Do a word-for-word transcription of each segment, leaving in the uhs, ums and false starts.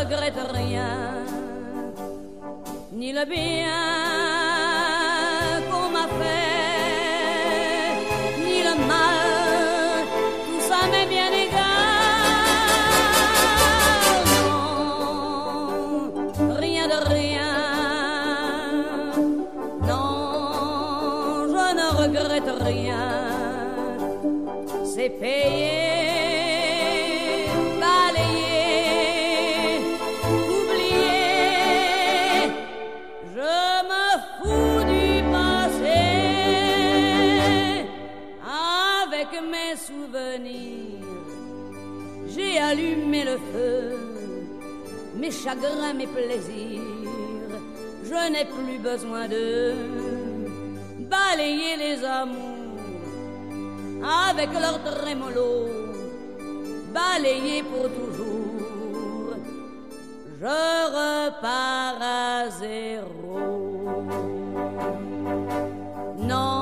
regrette rien, ni le bien qu'on m'a fait, ni le mal, tout ça m'est bien égal. Non, rien de rien, non, je ne regrette rien, c'est payé. J'ai allumé le feu, mes chagrins, mes plaisirs. Je n'ai plus besoin de balayer les amours avec leur trémolo, balayer pour toujours. Je repars à zéro. Non.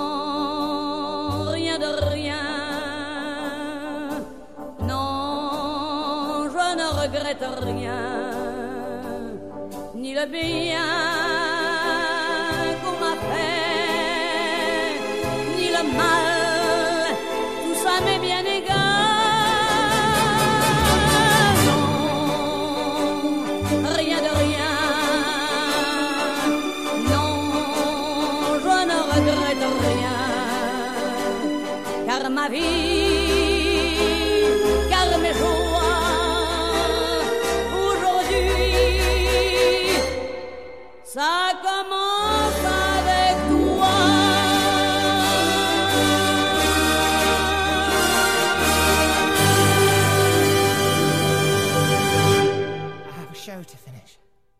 Rien, ni le bien qu'on m'a fait, ni le mal, tout ça m'est bien égal. Non, rien de rien, non, je ne regrette rien, car ma vie, car mes jours, ça commence avec toi. I have a show to finish.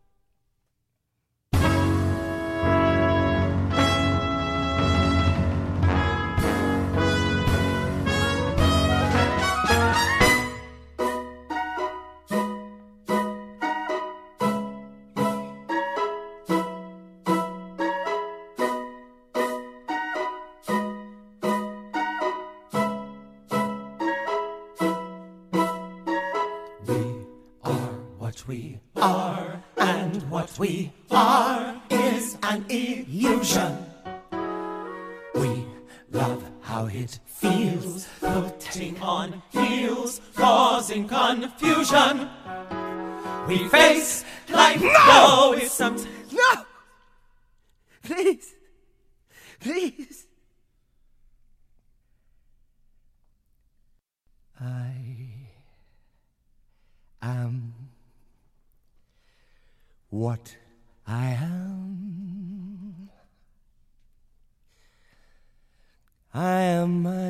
We are, and what we are is an illusion. We love how it feels, putting on heels, causing confusion. We face life, no, it's something. No! Please, please. I am what I am. I am my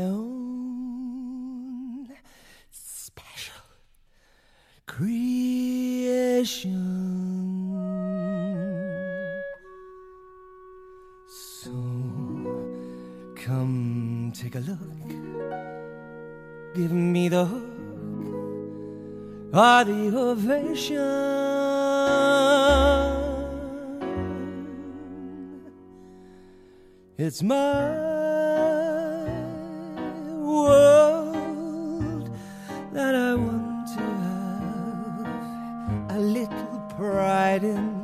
own special creation. So come take a look, give me the hook or the ovation. It's my world that I want to have a little pride in.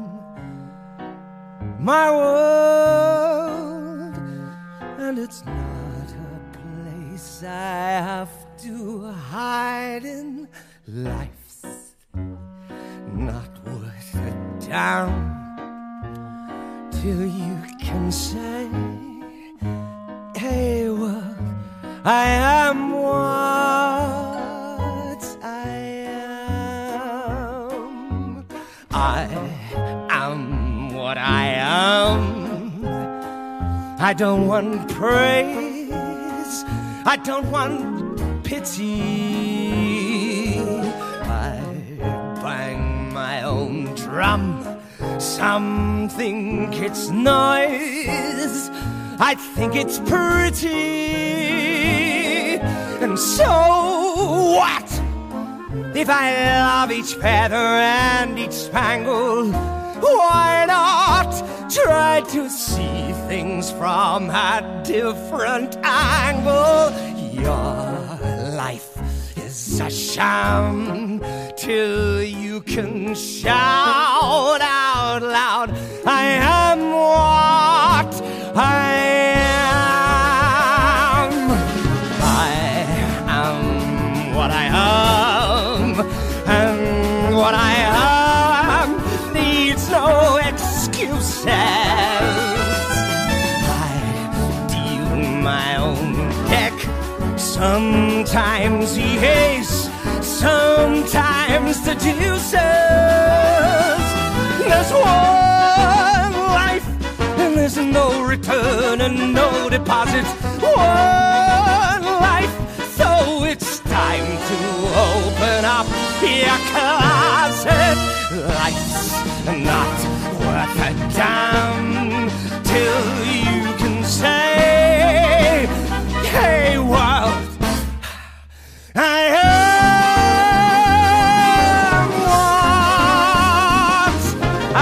My world, and it's not a place I have to hide in. Life's not worth a damn till you can say, hey world, I am what I am. I am what I am. I don't want praise, I don't want pity. I bang my own drum, some think it's noise, I think it's pretty. And so what if I love each feather and each spangle? Why not try to see things from a different angle? Your life is a sham till you can shout out loud, I am what I am. I am what I am, and what I am needs no excuses. I deal my own deck, sometimes the ace, sometimes the deuces. There's one life, and there's no return and no deposit. One life, so it's time to open up your closet. Life's not worth a damn till you can say, hey world, I am what I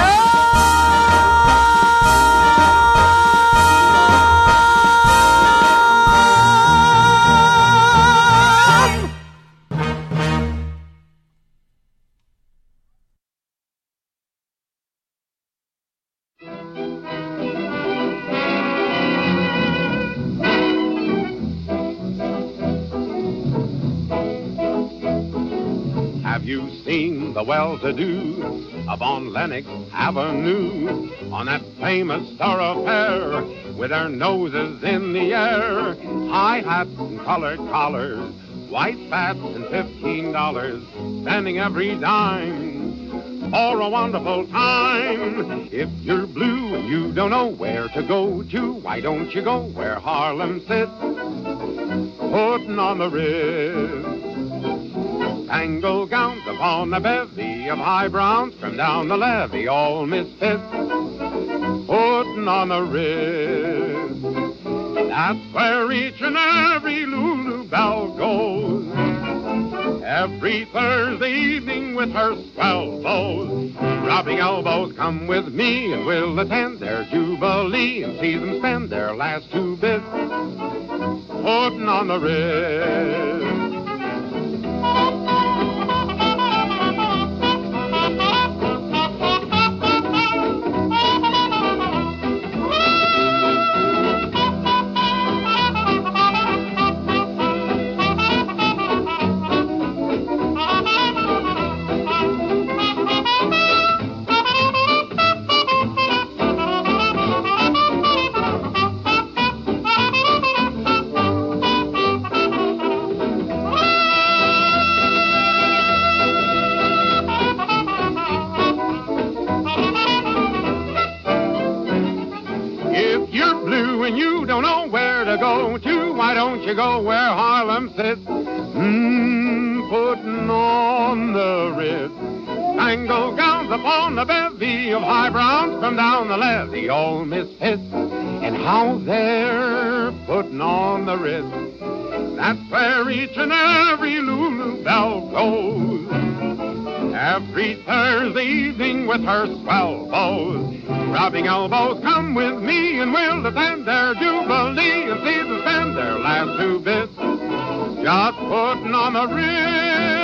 Have you seen the well-to-do up on Lenox Avenue, on that famous thoroughfare, with their noses in the air? High hats and colored collars, white spats and fifteen dollars, spending every dime for a wonderful time. If you're blue and you don't know where to go to, why don't you go where Harlem sits, putting on the Ritz? Spangled gowns upon a bevy of high browns from down the levee, all misfits, putting on the Ritz. That's where each and every Lulu Belle goes, every Thursday evening with her swell beaux. Rubbing elbows, come with me and we'll attend their jubilee and see them spend their last two bits, putting on the Ritz. You go where Harlem sits, mmm, putting on the Ritz. Spangled gowns upon the bevy of high browns from down the levee, all misfits, and how they're putting on the Ritz. That's where each and every Lulu Belle goes, every Thursday evening with her swell beaux. Rubbing elbows, come with me and we'll attend their jubilee and see them spend their last two bits, just putting on the Ritz.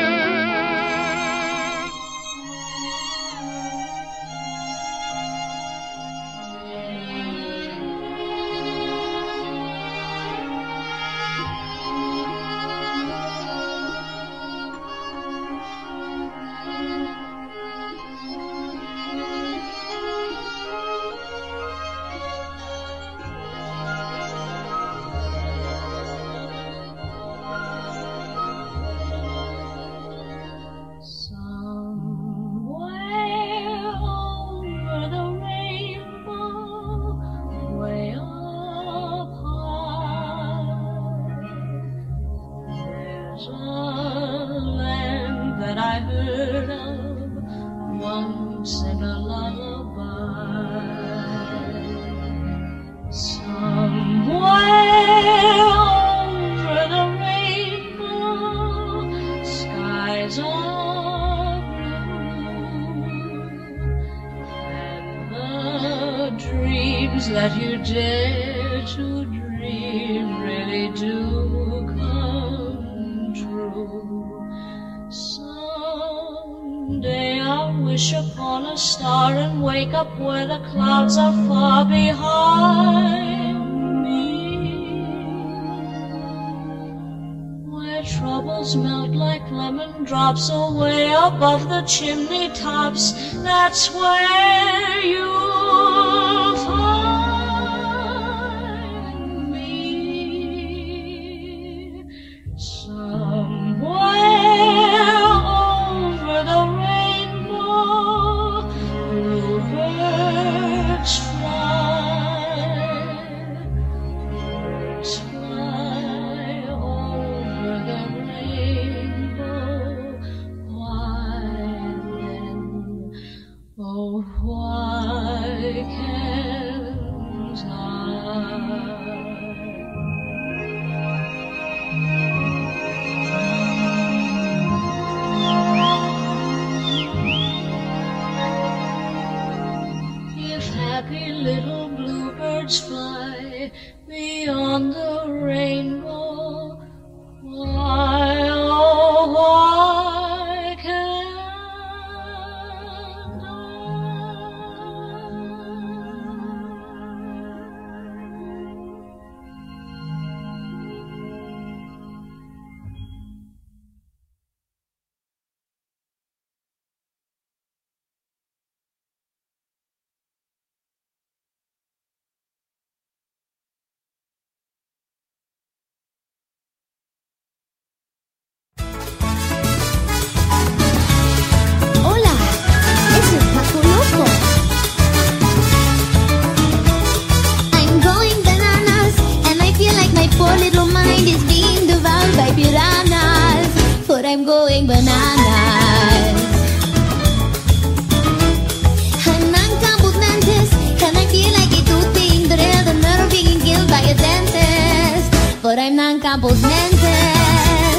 That you dare to dream really do come true. So wish upon a star and wake up where the clouds are far behind me, where troubles melt like lemon drops away above the chimney tops. That's where you'll find me, somewhere over the rainbow. Bluebirds fly, birds fly over the rainbow. Why then, oh why can't I? If happy little bluebirds fly beyond the rainbow, why, oh why can't I? Hola, es el Paco Loco. I'm going bananas, and I feel like my poor little mind is being devoured by piranhas. But I'm going bananas. I'm uncoupled mantis, and I feel like it tooth being drilled and nerve being killed by a dentist. But I'm non-coupled mantis.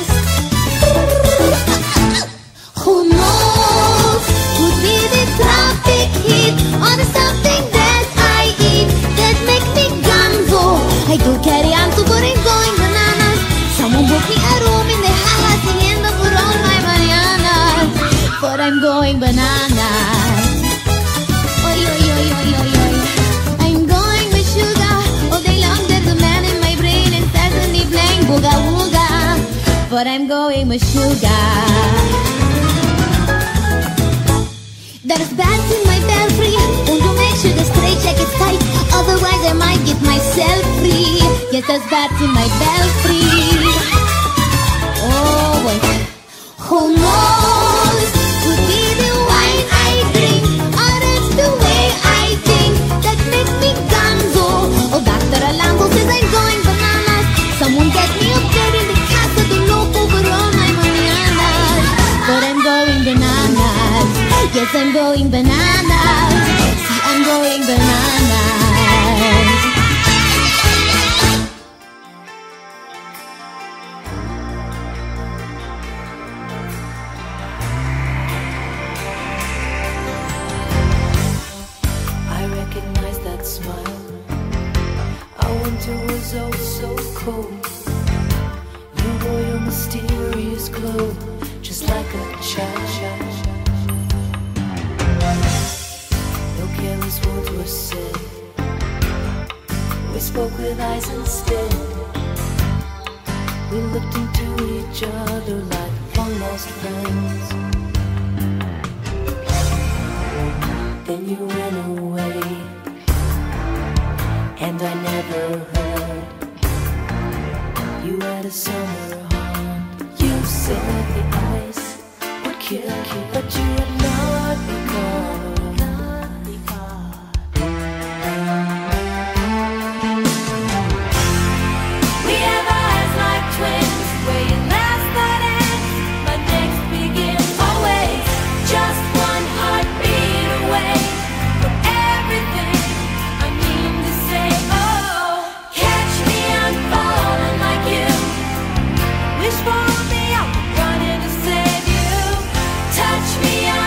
Who knows? Could be the traffic heat or the something that I eat that make me gonzo. I do carry on to but I'm going bananas. Someone book me a room in the house singing for all my mañanas. But I'm going bananas. Oy, oy, oy, oy, oy, oy. I'm going with sugar. All day long there's a man in my brain incessantly playing booga wooga. But I'm going with sugar. There's bats in my belfry. Want to make sure the straight check is tight, otherwise I might get myself free. Yes, there's bats in my belfry. Oh wait, who knows? Could be the wine I drink, or it's the way I think that makes me gonzo. Oh, Doctor Alonso says I'm going bananas. Someone get me up there in the casa de loco for all my mañanas. But I'm going bananas. Yes, I'm going bananas. See, I'm going bananas. I recognize that smile. Our winter was oh so cold. You wore your mysterious glow, just like a child. No careless words were said. We spoke with eyes instead. We looked into each other like long lost friends. Then you went away, and I never heard. You had a summer haunt. You said the ice would kill you, but you had not become. For me, I'm running to save you. Touch me.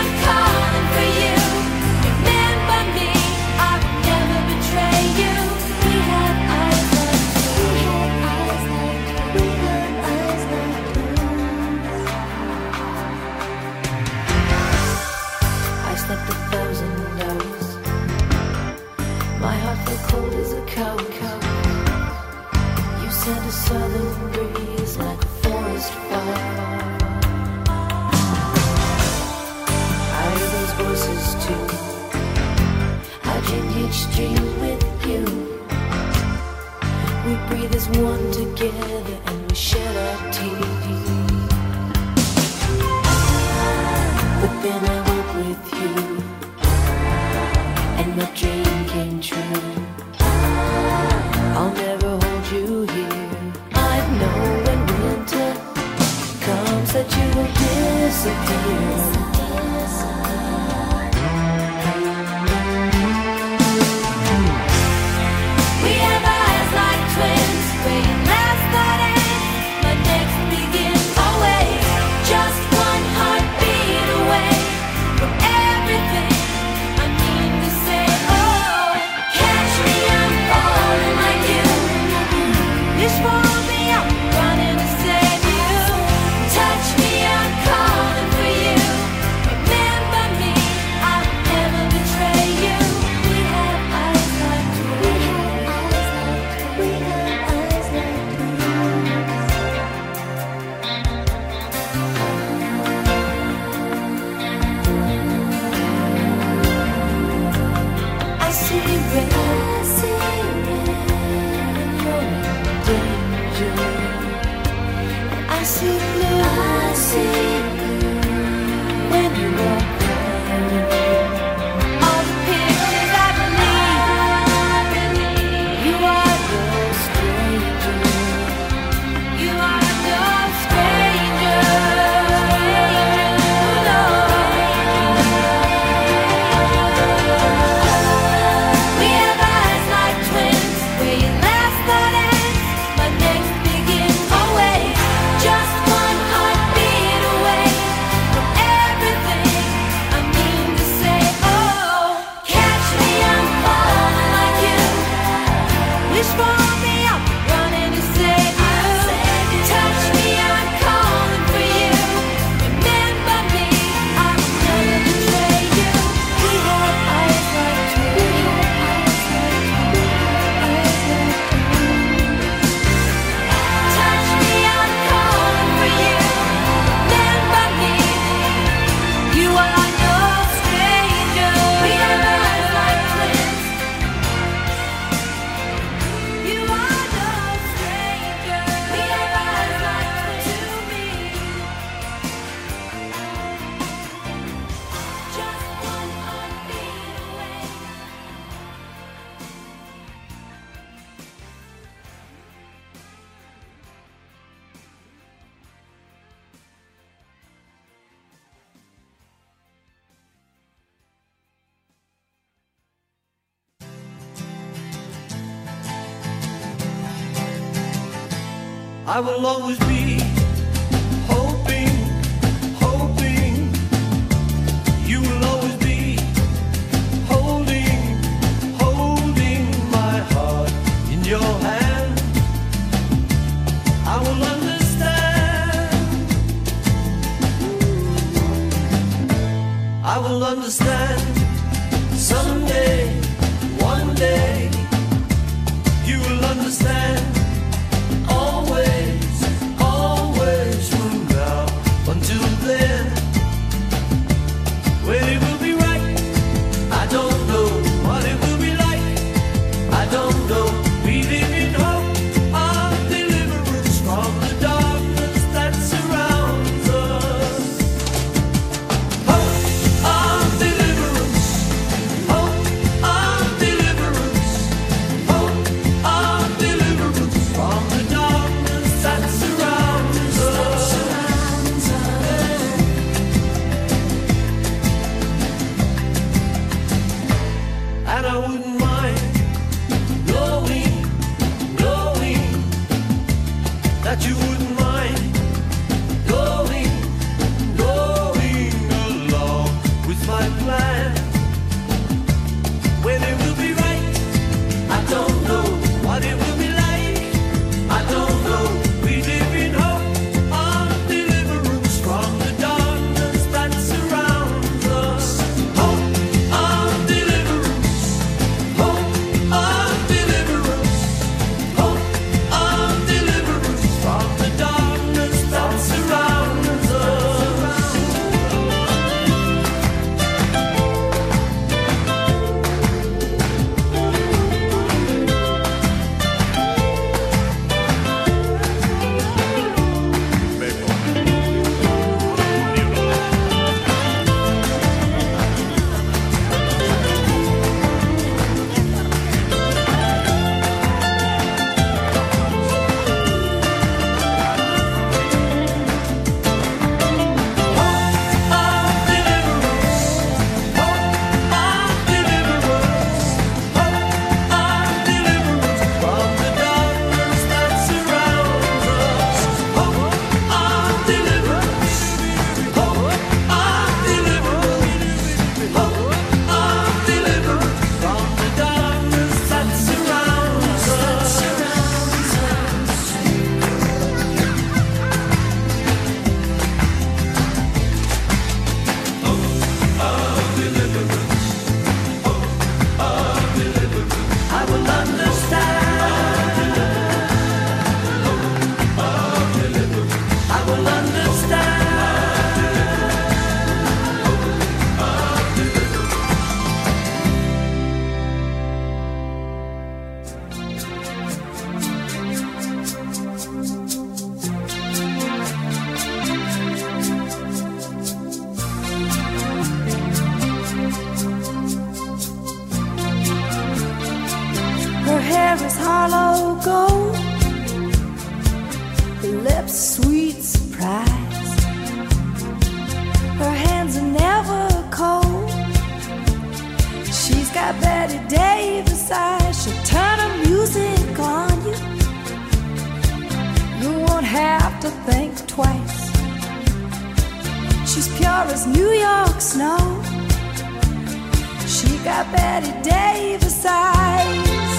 promise that you will disappear. We have eyes like twins, waiting last night ends, but next begins always. Just one heartbeat away from everything I mean to say. Oh, catch me, I'm falling like you. Wish for me, I'm running to save you. Touch me, I'm calling for you. Remember me, I'll never betray you. We have eyes like twins. We have eyes like I see red, I see red, and you're in danger. I see blue, I see blue, when you walk by. All the pictures I believe, you are no stranger. You are no stranger. No. We have eyes like twins, waiting last night ends, but next begins always. Just one heartbeat away from everything I mean to say. Oh, catch me, I'm falling like you. Wish for me, I'm running to save you. Touch me, I'm calling for you. Remember me, I'll never betray you. We have eyes like twins. Touch me, I'm calling for you. Remember me, you are no stranger. We have eyes like twins. You are no stranger. We have eyes like twins to me. Just one heartbeat away. I will always be hoping, hoping. You will always be holding, holding my heart in your hand. I will understand. I will understand someday, one day. You will understand. Always, always from now until then. When it will be right, I don't know. What it will be like, I don't know. We live in hope of deliverance from the darkness that surrounds us. Hope of deliverance. Betty Davis eyes, she'll turn her music on you. You won't have to think twice. She's pure as New York snow. She got Betty Davis eyes.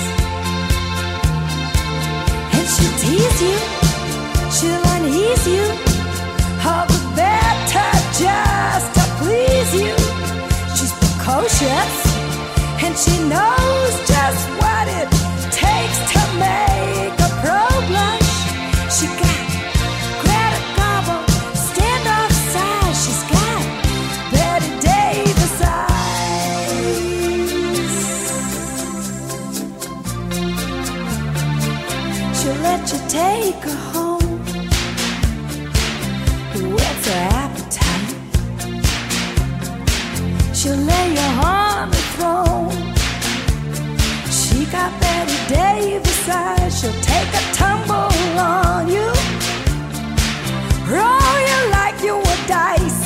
And she'll tease you, she'll unease you, all the better just to please you. She's precocious, and she knows just what it takes to make a pro blush. She got Greta Garbo, standoff size. She's got Betty Davis eyes. She'll let you take her home, whets her appetite. She'll lay you on the throne. She got Betty Davis eyes. She'll take a tumble on you, roll you like you were dice,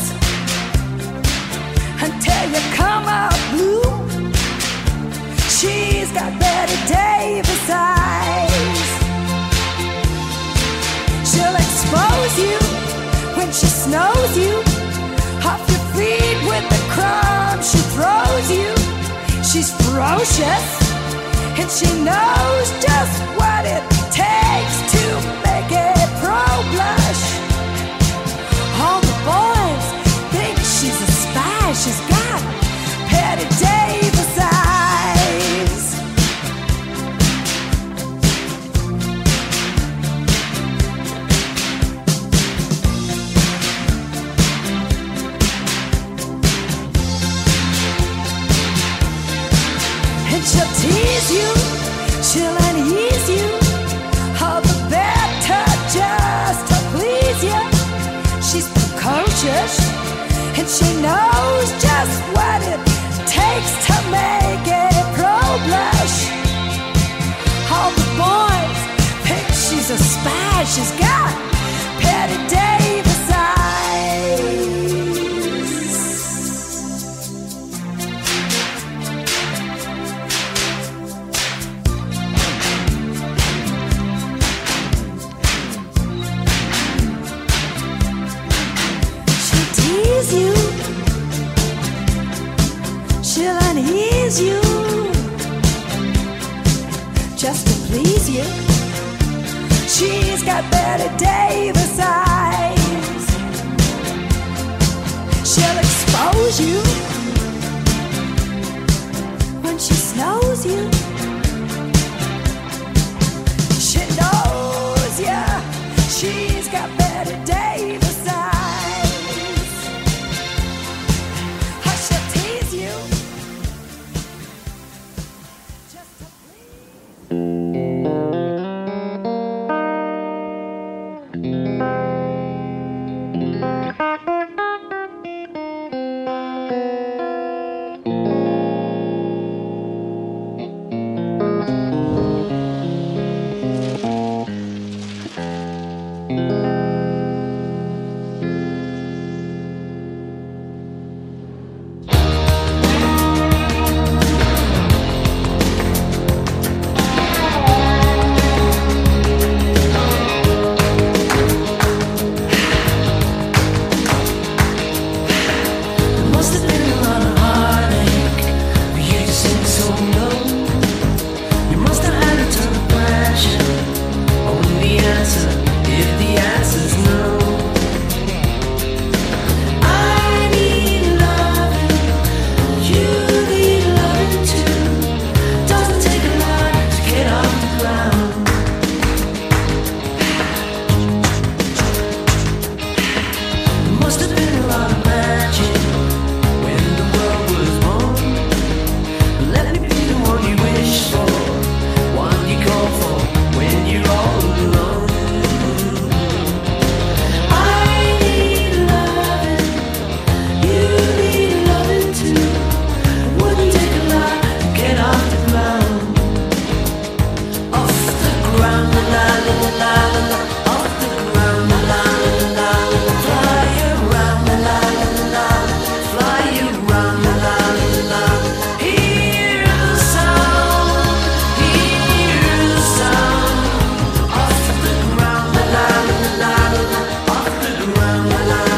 until you come out blue. She's got Betty Davis eyes. She'll expose you when she snows you, off your feet with the crumbs she throws you. She's ferocious, and she knows just what it takes to make a pro blush. All the boys think she's a spy. She's got Betty Davis eyes. And she'll tease you, she'll unease you, all the better just to please you. She's precocious, and she knows just what it takes to make a pro blush. All the boys think she's a spy. She's got Betty Davis eyes. You, she'll unease you, just to please you. She's got Betty Davis eyes. She'll expose you when she snows you. She knows ya, she's got Betty Davis eyes. la la.